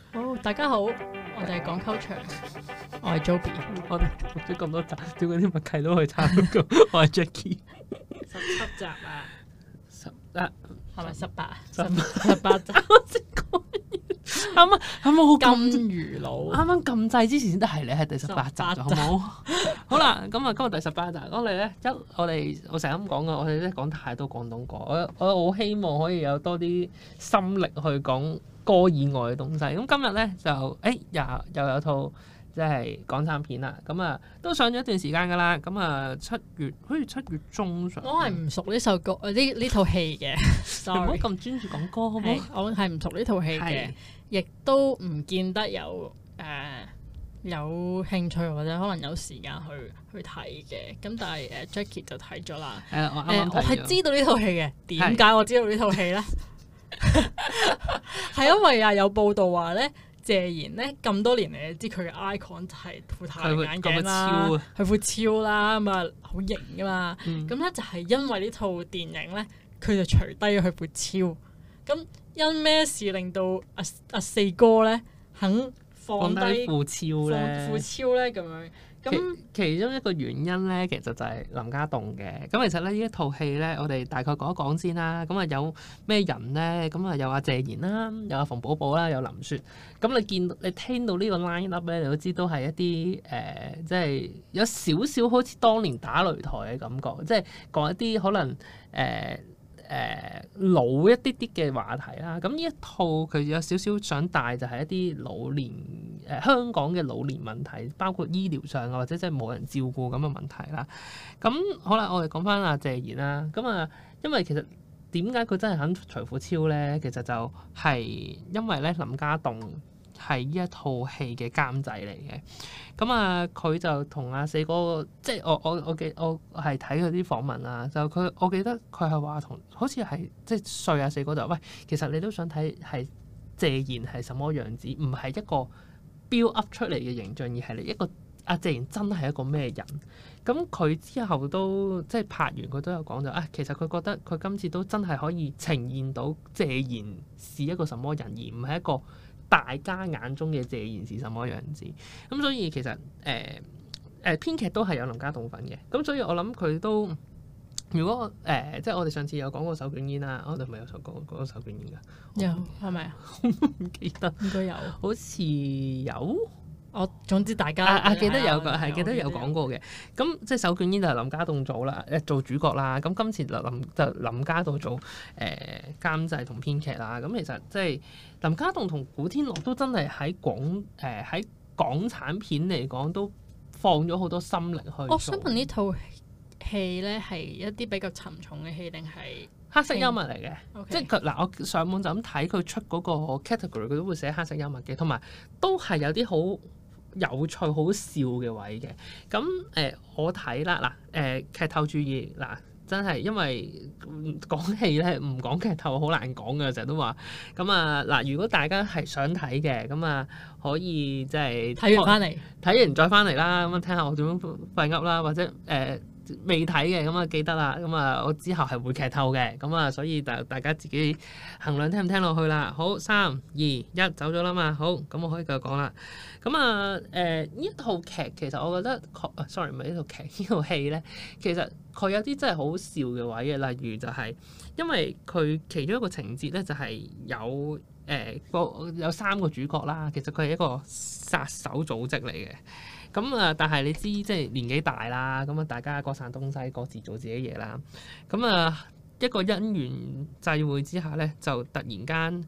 好，大家好，我哋係講 culture，我係 Joby， 我哋錄咗咁多集，點解啲默契都可以差到咁？我係 Jackie， 17集啊， 係咪18啊 18 ？18集， 啱啱好金撳魚佬， 啱啱撳掣之前先得係你係第18集 18 咋，好冇？好啦，咁啊，今日第18集，我成日咁講噶，我哋咧講太多廣東歌，我好希望可以有多啲心力去講歌以外嘅東西。咁今日咧就又有套即係港產片啦，咁啊都上咗一段時間噶啦，咁啊好似七月中上。 我係唔熟呢首歌呢套戲嘅你唔好 ，sorry， 咁專注講歌好唔好？ 我係唔熟呢套戲嘅係， 亦都唔見得有興趣或者可能有時間去睇嘅。咁但係Jackie 就睇咗啦。 我啱啱我係睇咗知道呢套戲嘅，點解我知道呢套戲咧？係因為有報道話咧，謝賢咧咁多年嚟，你知佢嘅 icon 就係副太陽眼鏡啦，佢副超啦，咁啊好型噶嘛。咁咧就係因為呢套電影咧，佢就除低咗佢副超。咁因咩事令到阿四哥咧肯放低副超咧？ 副超咧咁樣？咁其中一個原因咧，其實就係林家棟嘅。咁其實咧，呢一套戲咧，我哋大概講一講先啦。咁啊，有咩人咧？咁啊，有阿謝賢啦，有阿馮寶寶啦，有林雪。咁你聽到呢個 line up 咧，你都知都係一啲即係有少少好似當年打擂台嘅感覺，即係講一啲可能老一啲啲嘅話題啦。咁呢一套佢有少少想帶就係一啲老年香港嘅老年問題，包括醫療上啊，或者即係冇人照顧咁嘅問題啦。咁好啦，我哋講翻阿謝賢啦。咁啊，因為其實點解佢真係肯除褲超咧？其實就係因為咧林家棟係呢一套戲嘅監製嚟嘅。咁啊，佢就同阿四哥，即係我係睇佢啲訪問啊，我記得佢係話好似係即係說阿四哥就喂，其實你都想睇係謝賢係什麼樣子，唔係一個 build up 出嚟嘅形象，而係你一個阿謝賢真係一個咩人。咁佢之後都即係拍完，佢都有講就其實佢覺得佢今次都真係可以呈現到謝賢是一個什麼人，而唔係一個大家眼中嘅謝賢是什麼樣子。咁所以其實編劇都係有林家棟份嘅。咁所以我諗佢都如果即係我哋上次有講過手捲煙啦，我哋咪有講過手捲煙㗎？ 有係咪啊？ 唔記得， 應該有， 好似有。 我總之大家記得有個係記得有講過嘅。咁即係手捲煙就係林家棟做啦，做主角啦。咁今次就林家棟做監製同編劇啦。咁其實即係林家棟同古天樂都真係喺港產片嚟講都放咗好多心力去做。 我想問呢套戲咧係一啲比較沉重嘅戲定係黑色幽默嚟嘅 ？Okay. 即係佢嗱，我上網就咁睇佢出嗰個 category，佢都會寫黑色幽默嘅，同埋都係有啲好有趣、好笑嘅位嘅。咁我睇啦嗱，劇透注意嗱，真係因為講戲咧唔講劇透好難講嘅，成日都話咁啊嗱。如果大家係想睇嘅，咁啊可以即係睇完翻嚟， 睇完再翻嚟啦，咁啊聽下我點樣廢噏啦，或者未睇嘅咁啊記得啦，咁啊我之後係會劇透嘅，咁啊所以大家自己衡量聽唔聽落去啦。好，3、2、1走咗啦嘛，好，咁我可以繼續講啦。咁啊呢套劇其實我覺得，sorry 唔係呢套劇，呢套戲咧，其實佢有啲真係好笑嘅位嘅，例如就係因為佢其中一個情節咧就係有有3個主角啦，其實佢係一個殺手組織嚟嘅。咁啊，但係你知即係年紀大啦，咁啊大家各散東西，各自做自己嘢啦。咁啊一個因緣際會之下咧，就突然間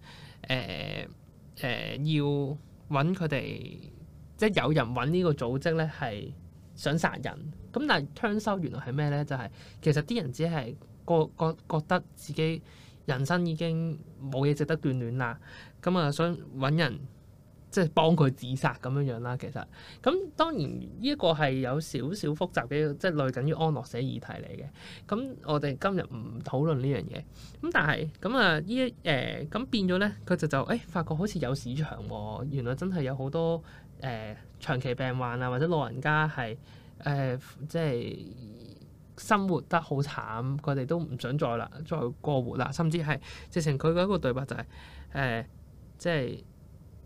要揾佢哋，即係有人揾呢個組織咧係想殺人。咁但係 turns out 原來係咩咧？就係其實啲人只係覺得自己人生已經冇嘢值得眷戀啦。咁啊想揾人，即係幫佢自殺咁樣樣啦，其實咁當然呢一個係有少少複雜嘅，即係類近於安樂死議題嚟嘅。咁我哋今日唔討論呢樣嘢。咁但係咁啊咁變咗咧，佢就發覺好似有市場喎。原來真係有好多長期病患啊，或者老人家係即係生活得好慘，佢哋都唔想再過活啦，甚至係直情佢嗰一個對白就係即係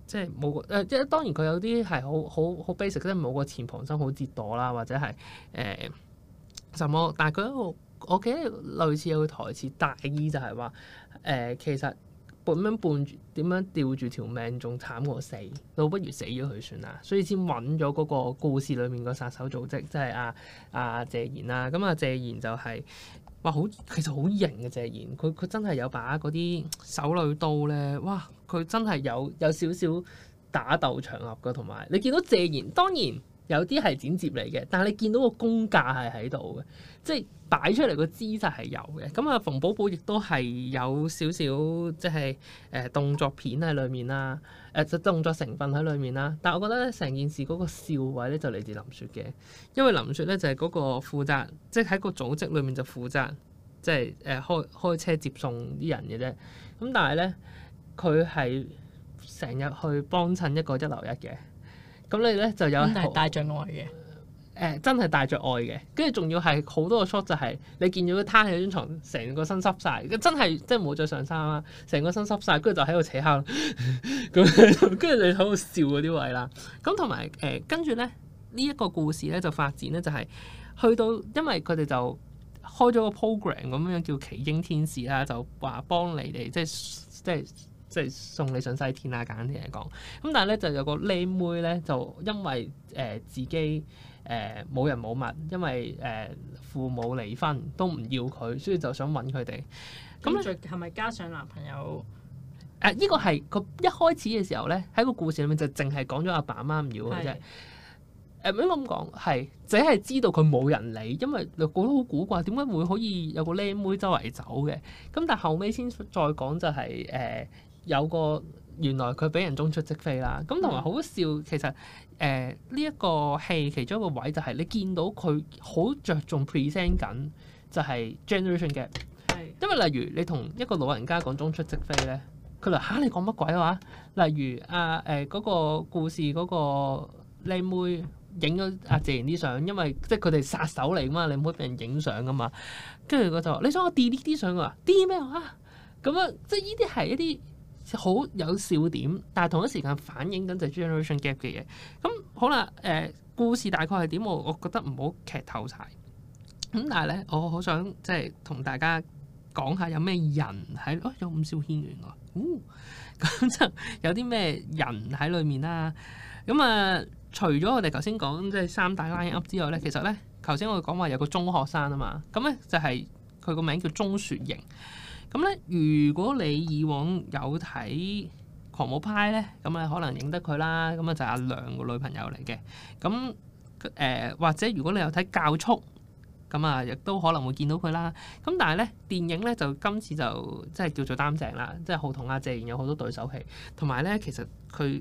即係冇即係當然佢有啲係好 basic，即係冇個前旁身好折墮啦，或者係什麼，但係佢一個我記得類似有個台詞大意就係話其實咁樣伴住點樣吊住條命仲慘過死，倒不如死咗佢算啦，所以先揾咗嗰個故事裏面個殺手組織，即係阿謝賢啦。咁謝賢就係、是。哇！其實好型嘅謝賢，佢真係有把嗰啲手裏刀咧，哇！佢真係有少少打鬥場合嘅，同埋你見到謝賢，當然有啲係剪接嚟嘅，但係你見到個功架係喺度嘅，即係擺出嚟個姿勢係有嘅。咁啊，馮寶寶亦都係有少少即係動作片喺裏面啦，動作成分喺裏面啦。但係我覺得咧，成件事嗰個笑位咧就嚟自林雪嘅，因為林雪咧就係嗰個負責，即係喺個組織裏面就負責即係開車接送啲人嘅啫。咁但係咧，佢係成日去幫襯一個一流一嘅。咁你咧就有係帶着愛嘅， 真係帶着愛嘅，跟住仲要係好多個 shot 就係你見到佢攤喺張床，成個身濕晒，真係即係冇着上衫啦，成個身濕晒，跟住就喺度扯下，咁跟住你喺度笑嗰啲位啦。咁同埋跟住咧呢一個故事咧就發展咧就係去到，因為佢哋就開咗個 program 咁樣叫奇英天使啦，就話幫你哋即係送你上西天啦，簡單啲嚟講。咁但係咧就有個靚妹咧，就因為自己冇人冇物，因為父母離婚都唔要佢，所以就想揾佢哋。咁咧係咪加上男朋友？ 呢個係佢一開始嘅時候咧，喺個故事裏面就淨係講咗阿爸阿媽唔要佢啫。應該咁講係，只係知道佢冇人理，因為你覺得好古怪，點解會可以有個靚妹周圍走嘅？咁但係後尾先再講就係有個原來佢俾人中出即飛啦，咁同埋好笑。其實呢一個戲其中一個位就係你見到佢好着重 present 緊就係 generation gap。因為例如你同一個老人家講中出即飛咧，佢話你講乜鬼話？例如嗰個故事嗰個靚妹影咗阿謝賢啲相，因為即係佢哋殺手嚟噶嘛，你唔可以俾人影相噶嘛。跟住佢就話：你想我 delete 啲相啊？delete 咩啊？咁樣即係呢啲係一啲好有笑點，但係同一時間反映緊就係 generation gap 嘅嘢。咁好啦，故事大概係點？我覺得唔好劇透晒。咁但係咧，我好想即係同大家講下有咩人喺有伍兆軒原來，咁就有啲咩人喺裏面啦。咁除咗我哋頭先講即係三大 line up 之外咧，其實咧頭先我哋講話有個中學生啊嘛，咁咧就係佢個名叫鐘雪瑩。咁咧，如果你以往有睇《狂舞派》咧，咁可能認得佢啦。咁就係阿亮個女朋友嚟嘅。咁或者如果你有睇《教速》，咁亦都可能會見到佢啦。咁但係咧，電影咧就今次就即係叫做擔正啦，即係好同阿謝賢有好多對手戲。同埋咧，其實佢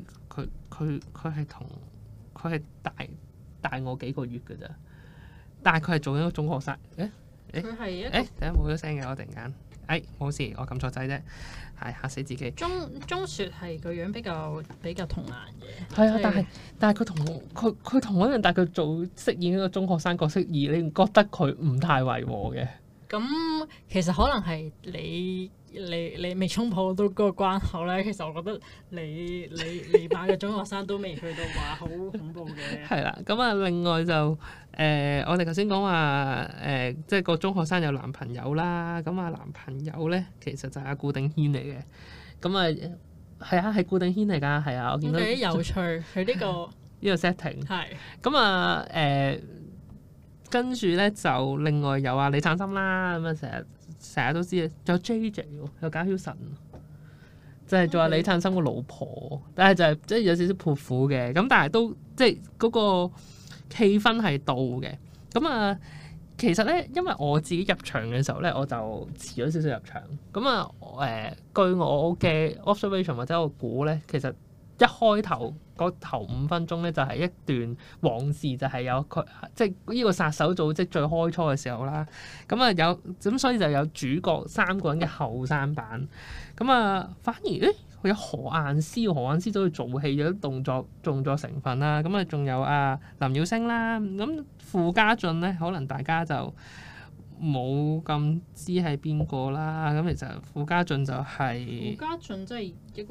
係大我幾個月㗎咋，但係佢係做緊一個中學生。 佢係一等下冇咗聲嘅，我突然間。冇事，我撳錯掣啫，係嚇死自己。 鐘雪係個樣比較童顏嘅， 係啊，但係佢同我一樣，但係佢做飾演一個中學生角色，而你唔覺得佢唔太違和嘅？ 咁其實可能係你未衝破到嗰個關口咧。其實我覺得你扮嘅中學生都未去到話好恐怖嘅。 係啦，咁另外就我哋頭先講話即係個中學生有男朋友啦。咁男朋友咧其實就係阿顧定軒嚟嘅。咁係係顧定軒嚟㗎，係啊，我見到幾有趣，佢呢個呢個 setting 係咁跟住咧就另外有李燦森啦，咁成日都知啊，仲有 JJ 喎，有賈曉晨，就係做阿李燦森個老婆，但係就係即係有少少潑婦嘅，咁但係都即係嗰個氣氛係到嘅。咁其實咧，因為我自己入場嘅時候咧，我就遲咗少少入場。咁據我嘅 observation 或者我估咧，其實一開頭嗰頭5分鐘咧，就係一段往事，就係有佢即係呢個殺手組織最開初嘅時候啦。咁所以就有主角3個人嘅後生版。反而有何雁詩走去做戲，有啲動作成分啦。仲有林耀星啦。咁傅家俊咧，可能大家就冇咁知係邊個啦。咁其實傅家俊就係傅家俊，即係一個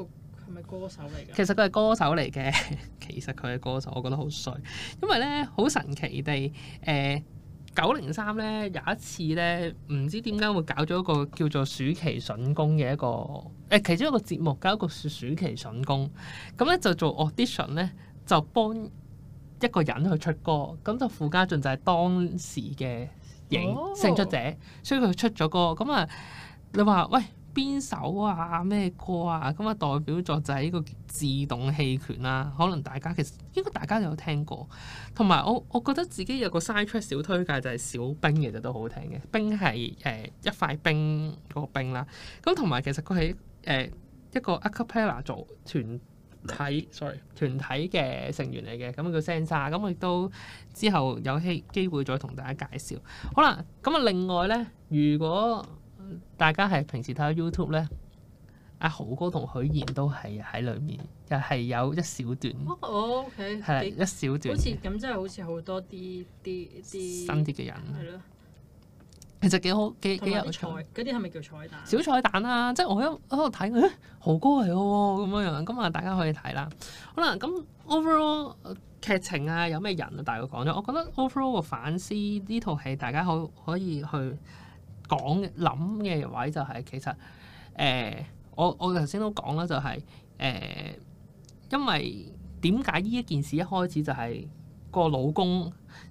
係咪歌手嚟㗎？ 其實佢係歌手嚟嘅，其實佢係歌手，我覺得好衰，因為咧好神奇地903咧有一次咧，唔知點解會搞咗一個叫做暑期筍工嘅一個其中一個節目，搞一個暑期筍工，咁咧就做 audition 咧，就幫一個人去出歌，咁就傅家俊就係當時嘅勝出者，所以佢出咗歌，咁啊你話喂？邊首啊咩歌啊，咁啊代表作就係呢個自動棄權啦。可能大家其實應該大家都有聽過，同埋我覺得自己有個 side track 小推介就係小冰，其實都好聽嘅。冰係一塊冰嗰個冰啦。咁同埋其實佢係一個 a cappella 做團體嘅成員嚟嘅，咁叫 Senza。咁我亦都之後有機會再同大家介紹。好啦，咁啊另外咧，如果大家係平時睇下 YouTube 咧，阿豪哥同許賢都係喺裏面，又係有一小段。 OK， 係一小段。 好似咁，真係好似好多啲新啲嘅人。 係咯。 其實幾好，幾有趣。 嗰啲係咪叫彩蛋？ 小彩蛋啦，即係我喺度睇，豪哥嚟喎咁樣，咁啊大家可以睇啦。好啦，咁 overall 劇情啊，有咩人啊？大概講咗，我覺得 overall 個反思呢套戲，大家可以去講諗嘅位就係其實我頭先都講啦，就係因為點解呢一件事一開始就係個老公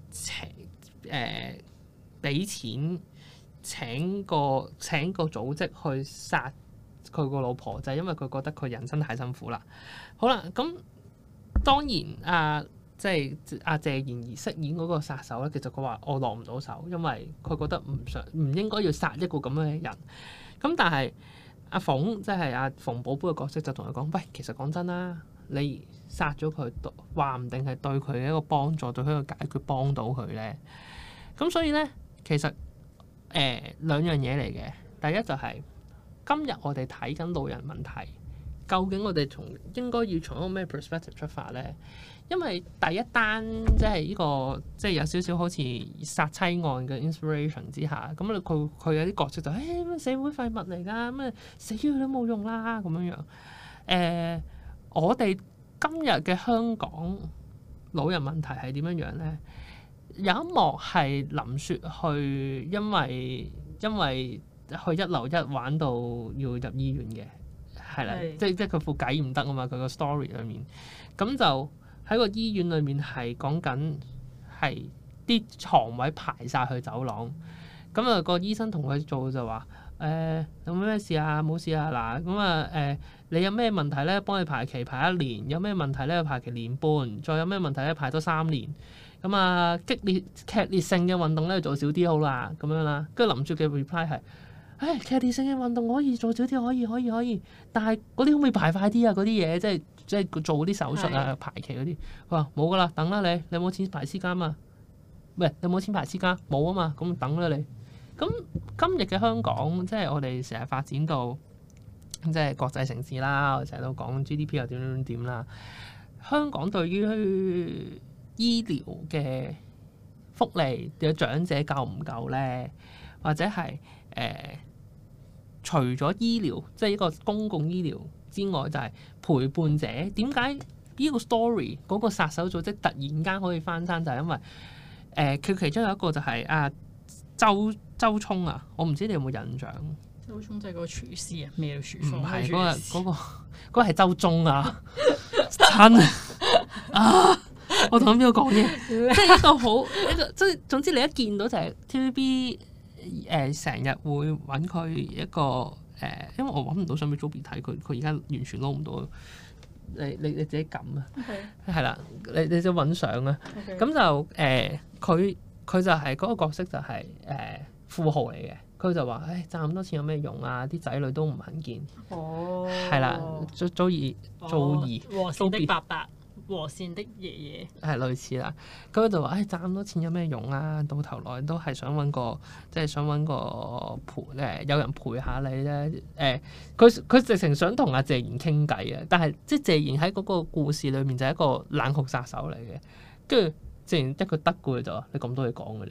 俾錢請個組織去殺佢個老婆，就係因為佢覺得佢人生太辛苦啦。好啦，咁當然即係阿謝賢儀飾演嗰個殺手咧，其實佢話我落唔到手，因為佢覺得唔應該要殺一個咁樣嘅人。咁但係阿鳳即係阿馮寶寶嘅角色就同佢講：喂，其實講真啦，你殺咗佢，話唔定係對佢嘅一個幫助，對佢嘅解決幫到佢咧。咁所以咧，其實兩樣嘢嚟嘅。第一就係今日我哋睇緊老人問題，究竟我哋應該要從一個咩 perspective 出發咧？因為第一單即係呢個即係有少少好似殺妻案嘅 inspiration 之下，咁佢有啲角色就社會廢物嚟㗎，咁死咗佢都冇用啦咁樣樣。我哋今日嘅香港老人問題係點樣樣咧？有一幕係林雪去，因為去一樓一玩到要入醫院嘅，係啦，即係佢副計唔得啊嘛，佢個 story 裏面咁就。喺個醫院裏面係講緊係啲床位排晒去走廊，咁啊個醫生同佢做就話有咩事啊？冇事啊嗱，咁你有咩問題咧？幫你排期排1年，有咩問題咧？排期1年半，再有咩問題咧？排多3年。咁啊劇烈性嘅運動咧做少啲好啦，咁樣啦。跟住林雪嘅 reply 係劇烈性嘅運動可以做少啲，可以，但係嗰啲可唔可以排快啲啊？嗰啲嘢即係做嗰啲手術啊、排期嗰啲，佢話冇噶啦，等啦你有冇錢排私家嘛？喂，你有冇錢排私家？冇啊嘛，咁等啦你。咁今日嘅香港，即係我哋成日發展到即係國際城市啦，我成日都講 GDP 又點啦。香港對於醫療嘅福利嘅長者夠唔夠咧？或者係除咗醫療，即係一個公共醫療之外，就係陪伴者。點解呢個 story 嗰個殺手組織突然間可以翻生？就係因為佢其中有一個就係周聰啊，我唔知你有冇印象？ 周聰即係嗰個廚師啊，咩廚師？ 唔係嗰個係周中啊，親啊！我同邊個講嘢？即係一個即係總之你一見到就係 TVB。成日會揾佢一個因為我揾唔到相俾 Joby 睇，佢而家完全撈唔到。你自己撳啊，係啦，你就揾相啊。咁就佢就係嗰個角色就係富豪嚟嘅。佢就話：賺咁多錢有咩用啊？啲仔女都唔肯見。哦，係啦，祖兒和善的伯伯。和善的爺爺係類似啦，咁佢就話：賺咁多錢有咩用啊？到頭來都係想揾個陪有人陪下你咧。佢直情想同阿謝賢傾偈啊！但係即係謝賢喺嗰個故事裏面就係一個冷酷殺手嚟嘅。跟住謝賢一句得嘅就話：你咁多嘢講嘅你。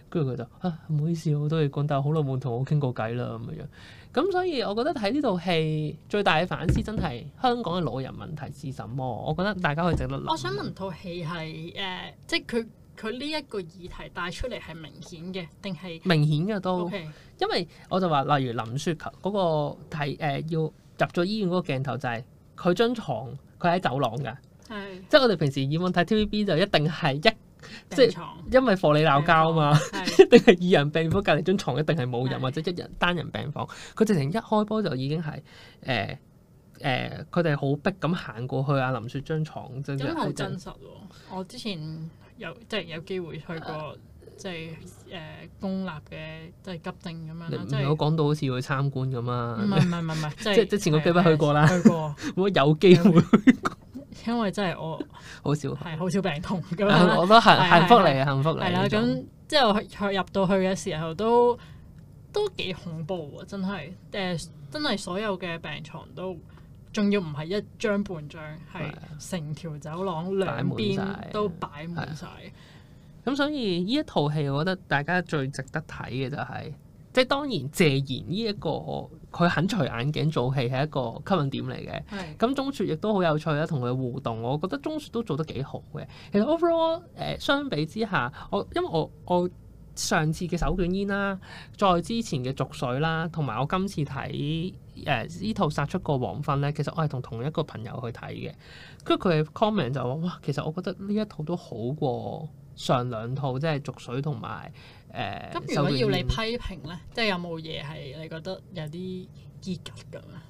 跟住佢就唔好意思，好多嘢講，但係好耐冇同我傾過偈啦咁樣。咁所以我覺得睇呢套戲最大嘅反思真係香港嘅老人問題是什麼？我覺得大家可以值得諗。 我想問套戲係即係佢呢一個議題帶出嚟係明顯嘅，定係明顯嘅都 ？Okay. 因為我就話，例如林雪球嗰個要入咗醫院嗰個鏡頭就係佢張床，佢喺走廊㗎。係。即係我哋平時以往睇 TVB 就一定係即係因為貨你鬧交啊嘛，一定係二人病房隔離張床一定係冇人或者一人單人病房。佢直情一開波就已經係佢哋好逼咁行過去阿林雪張床， 咁好真實喎！我之前有機會去過即係公立嘅即係急症咁樣啦。即係我講到好似去參觀咁啊！唔係，即係前個幾日去過啦。去過，我有機會去過。因為真係我好少病痛咁樣，我都係幸福嚟，幸福嚟。係啦，咁之後入到去嘅時候都幾恐怖喎！真係真係所有嘅病床都，仲要唔係一張半張，係成條走廊兩邊都擺滿晒。咁所以呢一套戲，我覺得大家最值得睇嘅就係，即係當然謝賢呢一個佢肯除眼鏡做戲係一個吸引點嚟嘅。咁鐘雪亦都好有趣啦，同佢互動，我覺得鐘雪都做得幾好嘅。其實 overall 相比之下，因為我上次嘅手捲煙啦，再之前嘅濁水啦，同埋我今次睇呢套殺出個黃昏咧，其實我係同一個朋友去睇嘅。跟住佢嘅 comment 就話：哇，其實我覺得呢一套都好過上兩套，即係濁水同埋咁如果要你批評咧，即係有冇嘢係你覺得有啲結格咁啊？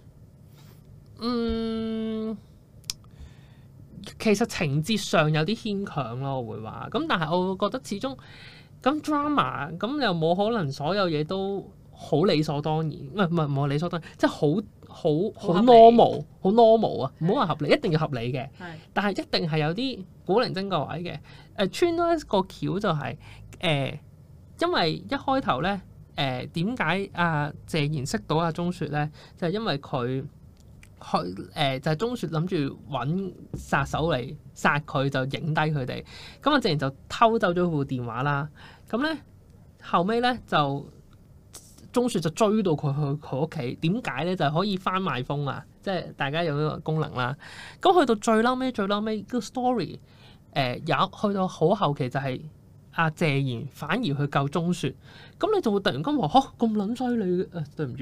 其實情節上有啲牽強咯，我會話。咁但係我會覺得始終咁 drama， 咁又冇可能所有嘢都好理所當然，唔係理所當然，即係好 normal， 好 normal 啊！唔好話合理，一定要合理嘅。但係一定係有啲古靈精怪位嘅。穿多一個橋就係因為一開頭咧點解阿謝賢識到阿鐘雪咧？就係因為佢就係鐘雪諗住揾殺手嚟殺佢，就影低佢哋。咁阿謝賢就偷走咗部電話啦。咁咧後尾咧就鐘雪就追到佢去佢屋企。點解咧？就係可以翻賣風啊！即係大家有呢個功能啦。咁去到最嬲尾個 story 去到好後期就係阿謝賢反而去救鐘雪。咁你就會突然間話咁撚犀利嘅，對唔住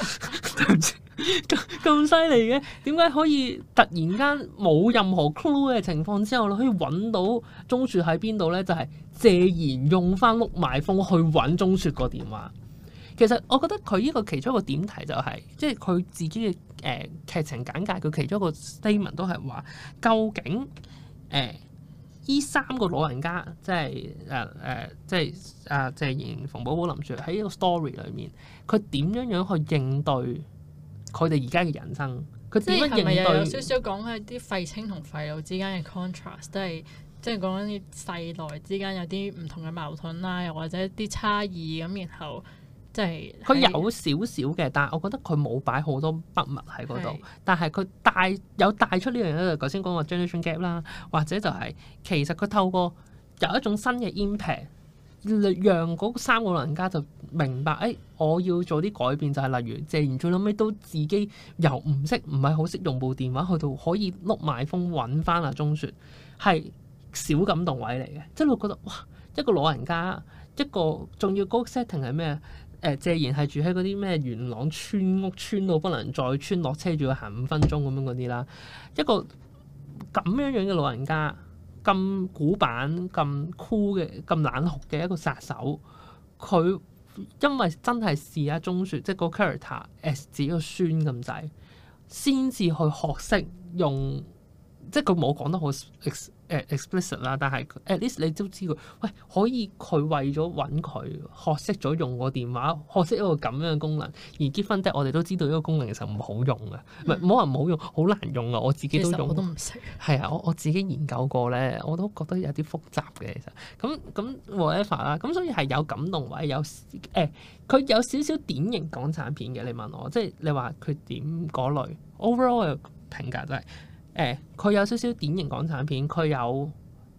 咁犀利嘅，點解可以突然間冇任何 clue 嘅情況之下，你可以揾到鐘雪喺邊度咧？就係謝賢用翻碌賣風去揾鐘雪個電話。其實我覺得佢呢個其中一個點題就係，即係佢自己嘅劇情簡介，佢其中一個 statement 都係話，究竟依三個老人家，即係謝賢、馮寶寶、林雪喺呢個 story 裏面，佢點樣去應對佢哋而家嘅人生？佢點樣應對？即係咪又有少少講係啲廢青同廢老之間嘅 contrast，都係即係講緊啲世代之間有啲唔同嘅矛盾啦，又或者啲差異咁，然後。即係佢有少少嘅，但係我覺得佢冇擺好多筆墨喺嗰度。但係佢帶出呢樣嘢，就頭先講個 generation gap 啦，或者就係其實佢透過有一種新嘅 impact，讓嗰三個老人家就明白，我要做啲改變，就係例如謝賢最後尾都自己由唔係好識用部電話，去到可以碌埋風揾翻阿鐘雪，係小感動位嚟嘅。即係你會覺得哇，一個老人家，一個仲要嗰個 setting 係咩？謝賢係住喺嗰啲咩元朗村屋，村到不能再村，落車仲要行5分鐘咁樣嗰啲啦。一個咁樣嘅老人家，咁古板、咁酷嘅、咁冷酷嘅一個殺手，佢因為真係視阿鐘雪，即係個 character as 自己個孫咁滯，先至去學識用，即係佢冇講得好explicit 啦，但係 at least 你都知佢，可以佢為咗揾佢學識咗用個電話，學識一個咁樣嘅功能。而結婚我哋都知道呢個功能其實唔好用嘅，唔好話唔好用，好難用啊！我自己都用，我都唔識。係啊，我自己研究過咧，我都覺得有啲複雜嘅。其實咁 whatever 啦，咁所以係有感動位，有佢有少少典型港產片嘅。你問我，即係你話缺點嗰類 overall 嘅評價就係。佢有少少典型港產片，佢有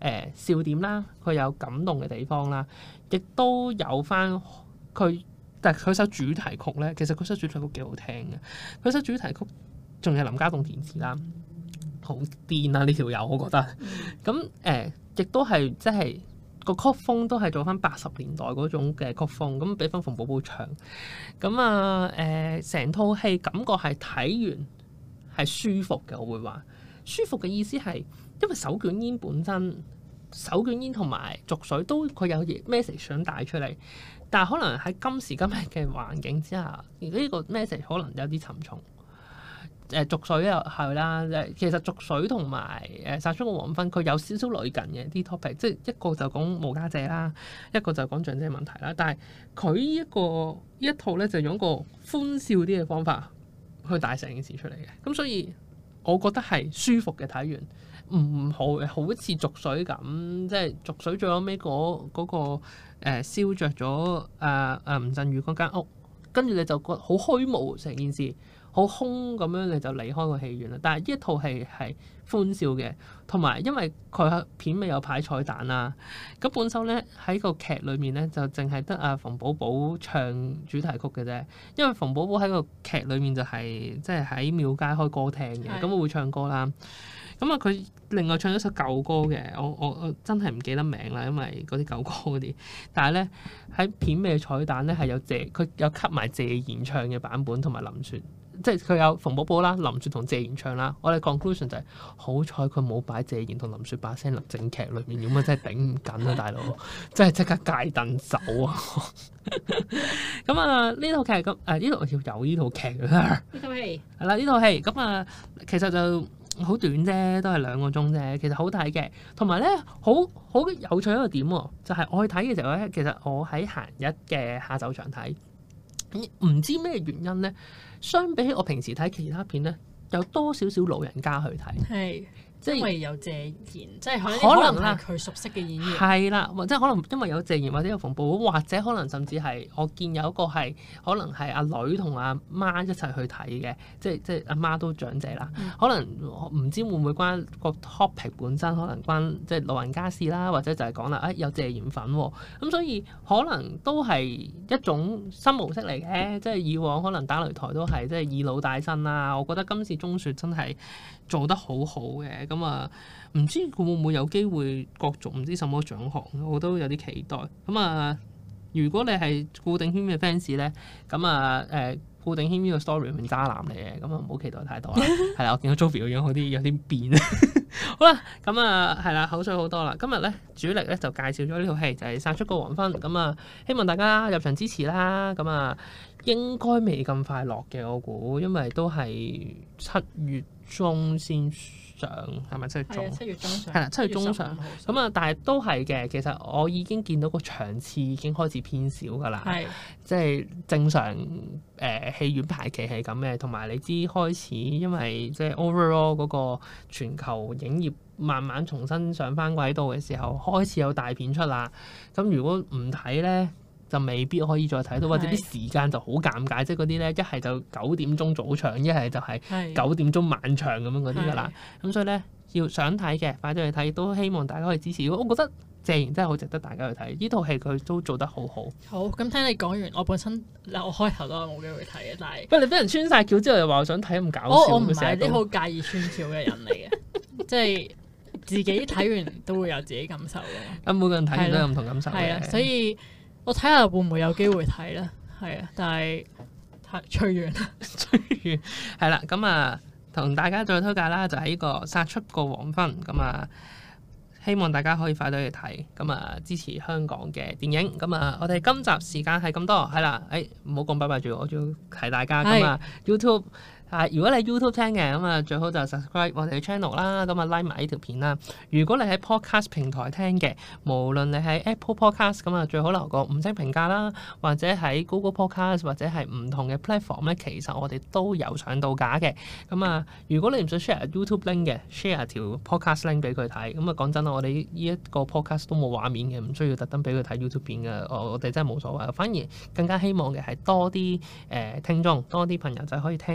笑點啦，佢有感動嘅地方啦，亦都有翻佢。但係佢首主題曲咧，其實佢首主題曲幾好聽嘅。佢首主題曲仲有林家棟填詞啦，好癲啊！呢條友我覺得。咁亦都係即係個曲風都係做翻80年代嗰種嘅曲風，咁俾翻馮寶寶唱。咁成套戲感覺係睇完係舒服嘅，我會話舒服嘅意思係因為手捲煙本身，手捲煙同埋濁水都佢有 message 想帶出嚟。但係可能喺今時今日嘅環境之下，呢個 message 可能有啲沉重。濁水又係啦，其實濁水同埋殺出個黃昏，佢有少少類近嘅啲 topic，即係一個就講無家者啦，一個就講長者問題啦。但係佢呢一套咧就用一個歡笑啲嘅方法去帶成件事出嚟嘅。咁所以我覺得係舒服嘅睇完。唔好似濁水咁，即係濁水最後尾嗰個燒着咗吳鎮宇嗰間屋，跟住你就覺得好虛無成件事，好空咁樣你就離開個戲院啦。但係呢一套戲係歡笑嘅，同埋因為佢片尾有排彩蛋啦，咁本身咧喺個劇裏面咧就淨係得阿馮寶寶唱主題曲嘅啫，因為馮寶寶喺個劇裏面就係即係喺廟街開歌廳嘅，咁我會唱歌啦。咁佢另外唱咗首舊歌嘅，我真係唔記得名啦，因為嗰啲舊歌嗰啲。但係咧喺片尾嘅彩蛋咧係有佢有 cut 埋謝賢唱嘅版本，同埋林雪，即係佢有馮寶寶啦、林雪同謝賢唱啦。我哋 conclusion 就係好彩佢冇擺謝賢同林雪把聲入正劇裏面，咁啊真係頂唔緊啊，大佬！真係即刻戒凳走啊！咁呢套劇咁呢度要有呢套劇啦，呢套戲係啦，呢套戲咁其實就。好短啫，都係2個鐘啫，其實好睇嘅。同埋咧，好有趣一個點喎，就係我去睇嘅時候咧，其實我喺閒日嘅下晝場睇，唔知咩原因咧，相比起我平時睇其他片咧，有多少少老人家去睇。係。即係因為有謝賢，即係可能係佢熟悉嘅演員。係啦，或者可能因為有謝賢，或者有馮寶寶，或者可能甚至係我見有一個係可能係阿女同阿媽一齊去睇嘅，即係阿媽都長者啦。可能唔知會唔會關個 topic 本身，可能關即係老人家事啦，或者就係講啦，有謝賢粉喎。咁所以可能都係一種新模式嚟嘅，即係以往可能打擂台都係即係以老帶新啦。我覺得今次鐘雪真係做得好好嘅。咁唔知佢會唔會有機會角逐唔知什麼獎項，我都有啲期待。如果你係顧定軒嘅 fans 咧，顧定軒呢個 story 係渣男嚟嘅，咁唔好期待太多啦。係啦，我見到 Joey 個樣有啲變。好啦，係啦，口水好多啦。今日咧主力咧就介紹咗呢套戲，就係、是《殺出個黃昏》。希望大家入場支持啦。應該未咁快落嘅，我估，因為都係7月中先上，係咪7月中？7月中上。係啦，7月中上。但係都係嘅。其實我已經見到個場次已經開始偏少㗎啦。係。即係正常戲院排期係咁嘅，同埋你知開始因為即係 overall 嗰個全球影業慢慢重新上翻軌道嘅時候，開始有大片出啦。咁如果唔睇咧，就未必可以再睇到，或者啲時間就好尷尬，即係嗰啲咧一係就9點鐘早場，一係就係9點鐘晚場咁樣嗰啲噶啦。咁所以咧要想睇嘅快啲去睇，都希望大家可以支持。我覺得謝賢真係好值得大家去睇，呢套戲佢都做得好好。好，咁聽你講完，我本身我開頭都係冇機會睇嘅，但係不過你俾人穿晒橋之後又話我想睇咁搞笑，我唔係啲好介意穿橋嘅人嚟嘅，即係自己睇完都會有自己感受嘅。咁每個人睇完都有唔同感受嘅。係啊，所以。我睇下會唔會有機會睇咧，係啊，但係隨緣，係啦，同大家再推介啦，就係呢個殺出個黃昏，希望大家可以快啲去睇，支持香港嘅電影，我哋今集時間係咁多，係啦，唔好講拜拜住，我仲要提大家YouTube。如果你 YouTube 聽嘅最好就 subscribe 我哋嘅 channel 啦，like 埋呢條片啦。如果你喺 podcast 平台聽嘅，無論你喺 Apple Podcast 最好留個5星評價啦，或者喺 Google Podcast 或者係唔同嘅 platform 咧，其實我哋都有上到架嘅。如果你唔想 share YouTube link 嘅 ，share 條 podcast link 俾佢睇。講真啦，我哋呢一個 podcast 都冇畫面嘅，唔需要特登俾佢睇 YouTube 片嘅。我哋真係冇所謂，反而更加希望嘅係多啲聽眾，多啲朋友就可以聽到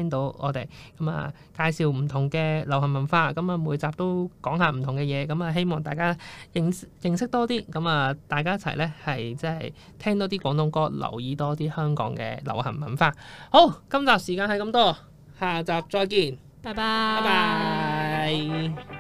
我哋，咁啊介紹唔同嘅流行文化，咁啊每集都講下唔同嘅嘢，咁啊希望大家認識多啲，咁啊大家一齊咧係即係聽多啲廣東歌，留意多啲香港嘅流行文化。好，今集時間係咁多，下集再見， 拜拜。 拜拜。